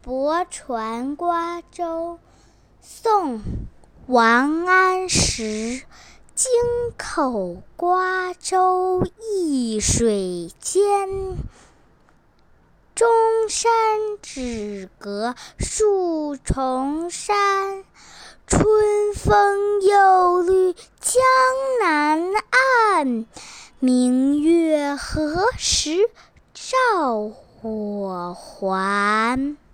泊船瓜洲。宋·王安石。京口瓜洲一水间，中山只隔数重山。春风又绿江南岸，明月何时照我还？